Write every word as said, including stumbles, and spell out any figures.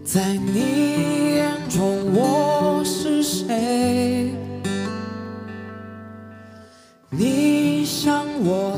在你眼中我是谁？你想我